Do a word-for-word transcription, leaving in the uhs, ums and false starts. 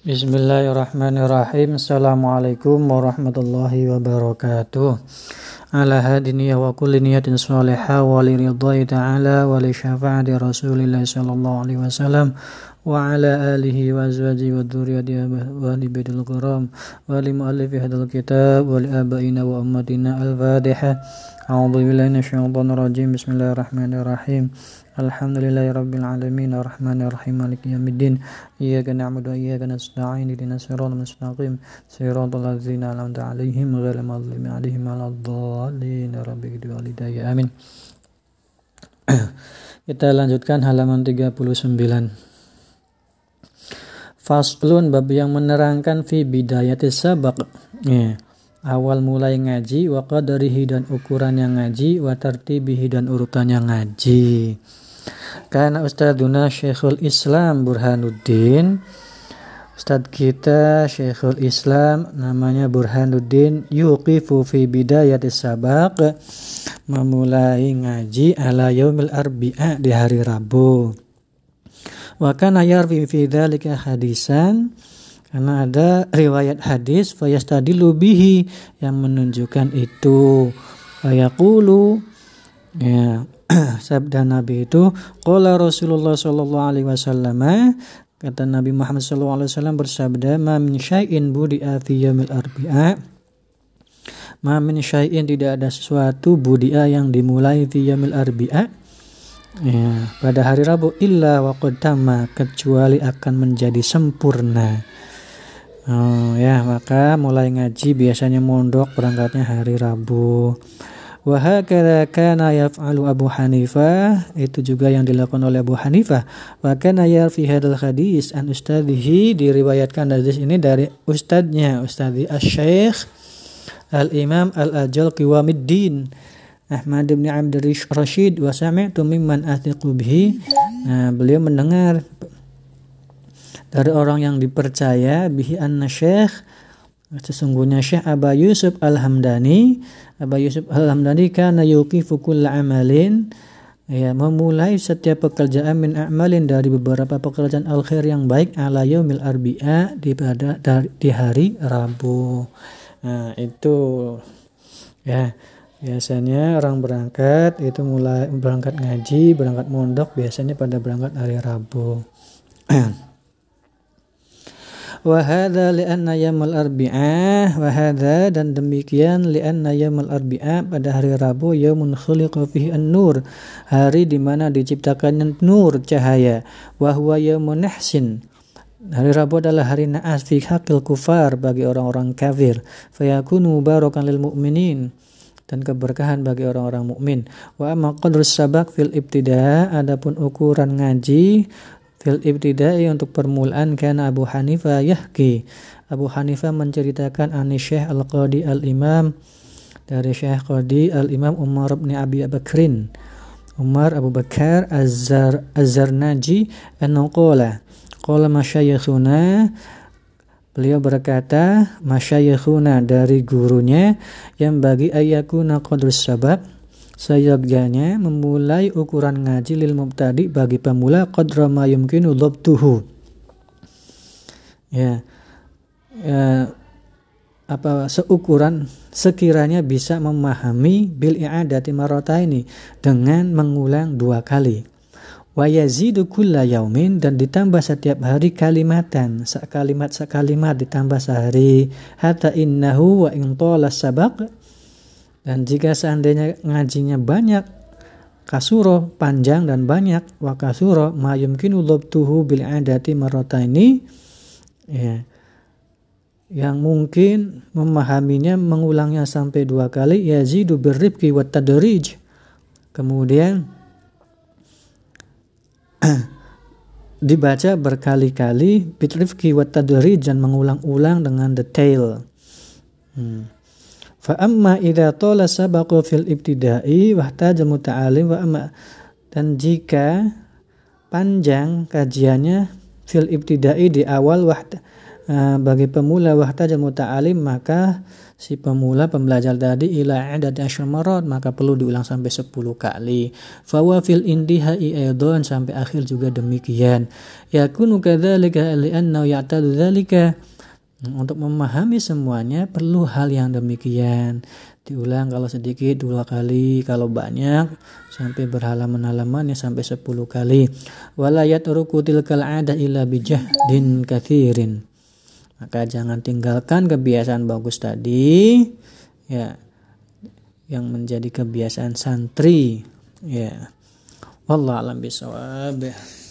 Bismillahirrahmanirrahim. Assalamualaikum warahmatullahi wabarakatuh. Ala hadini wa kulli niyatin salihah wa li ridhai ta'ala wa li syafa'ati Rasulillah sallallahu alaihi wasallam wa ala alihi wa azwajihi wa dzurriyyatihi wa li baitil kiram wa li muallifi hadzal kitab wa li abaina wa ummatina. Al-Fatihah. A'udzu billahi minasyaitonir rajim. Bismillahirrahmanirrahim. Alhamdulillahirabbil alamin arrahmanir rahim maliki yaumiddin iyyaka na'budu wa iyyaka nasta'in ihdinas siratal mustaqim siratal ladzina an'amta 'alaihim ghairil maghdubi 'alaihim waladdallin walidayya amin. Kita lanjutkan halaman tiga puluh sembilan. Faslun, bab yang menerangkan fi bidayatis sabaq, ya, awal mulai ngaji, wa qadarihi dan ukuran yang ngaji, wa tartibihi dan urutan yang ngaji. Karena Ustadzuna Syekhul Islam Burhanuddin, Ustadz kita Syekhul Islam namanya Burhanuddin, yuqifu fi bidayatis sabaq, memulai ngaji ala yaumil arbi'a, di hari Rabu. Wa kana yarwi fi dzalika hadisan, karena ada riwayat hadis, fayastadilu bihi, yang menunjukkan itu. Fayaqulu, ya, sabda Nabi itu, qala Rasulullah sallallahu alaihi wasallam, kata Nabi Muhammad sallallahu alaihi wasallam bersabda, ma min syai'in budi'a fi yaumil arbi'a, ma min syai'in, tidak ada sesuatu, budi'a yang dimulai fi yaumil arbi'a, ya, pada hari Rabu, illa wa qad tamma, kecuali akan menjadi sempurna. Oh ya, maka mulai ngaji biasanya mondok berangkatnya hari Rabu. Wa hakadha kana yaf'alu Abu Hanifah, itu juga yang dilakukan oleh Abu Hanifah. Wa kana yarfi hadzal hadis an ustadzihi, diriwayatkan hadis ini dari ustadznya, Ustadzi Asy-Syaikh Al-Imam Al-Ajal Qiwamuddin Ahmad bin Abdul Rashid, wa sami'tu mimman athiqu bihi. Nah, beliau mendengar dari orang yang dipercaya, bihi anna syekh, sesungguhnya Syekh Aba Yusuf Al-Hamdani, Aba Yusuf Al-Hamdani kana yuqifu kulla amalin, ya, memulai setiap pekerjaan min a'malin, dari beberapa pekerjaan al-khair yang baik, ala yaumil arbi'a, di pada di hari Rabu. Nah, itu ya, biasanya orang berangkat itu mulai berangkat ngaji, berangkat mondok biasanya pada berangkat hari Rabu. Wa hadza li'anna yaumul arbi'ah, wa hadza, dan demikian, li'anna yaumul arbi'ah, pada hari Rabu, yaumun khuliqa fihi an-nur, hari di mana diciptakannya nur, cahaya. Wa huwa yaumun nahsin, hari Rabu adalah hari naas fi haqqil kufar, bagi orang-orang kafir. Fayakunu mubarakan lil mu'minin, dan keberkahan bagi orang-orang mukmin. Wa amma qadrus sabaq fil ibtida', adapun ukuran ngaji fil ibtida'i, untuk permulaan, kana Abu Hanifah yahki, Abu Hanifah menceritakan ani Syekh Al-Qadi Al-Imam, dari Syekh Qadi Al-Imam Umar bin Abi Bakrin, Umar Abu Bakar Az-Zar Az-Zarnaji, annahu qala qala masyayikhuna, beliau berkata, masyayikhuna, dari gurunya, yang bagi ayyakuna qadrus sabaq, seyogyanya memulai ukuran ngaji lil mubtadi, bagi pemula, qadra ma yumkinu dhabtuhu, ya, ya, apa seukuran sekiranya bisa memahami, bil i'adati marrataini, dengan mengulang dua kali. Wa yazidu kulla yaumin, dan ditambah setiap hari kalimatan, sekalimat sekalimat ditambah sehari, hatta innahu wa in tala sabaq, dan jika seandainya ngajinya banyak, kasuro, panjang dan banyak, wa kasuro ma yumkinu dhabtuhu bil adati marrataini, ya, yang mungkin memahaminya mengulangnya sampai dua kali, yazidu birrifqi wat tadrij, kemudian dibaca berkali-kali, bitrifqi wat tadrij, dan mengulang-ulang dengan detail. hmm. Fa amma idza tala sabaqu fil ibtida'i wahtaja muta'alim, wa amma, dan jika panjang kajiannya fil ibtida'i, di awal, wahta, uh, bagi pemula wahtajal muta'alim, maka si pemula pembelajar tadi ila adad asyar marat, maka perlu diulang sampai sepuluh kali. Fawa fil intihai aidan, sampai akhir juga demikian. Yakunu kadzalika li'annahu ya'tadu dzalika, untuk memahami semuanya perlu hal yang demikian. Diulang kalau sedikit dua kali, kalau banyak sampai berhalaman-halaman ya sampai sepuluh kali. Wala yatruku tilkal 'adah illa bijahdin katsirin, maka jangan tinggalkan kebiasaan bagus tadi ya, yang menjadi kebiasaan santri ya. Wallahu a'lam bishawab.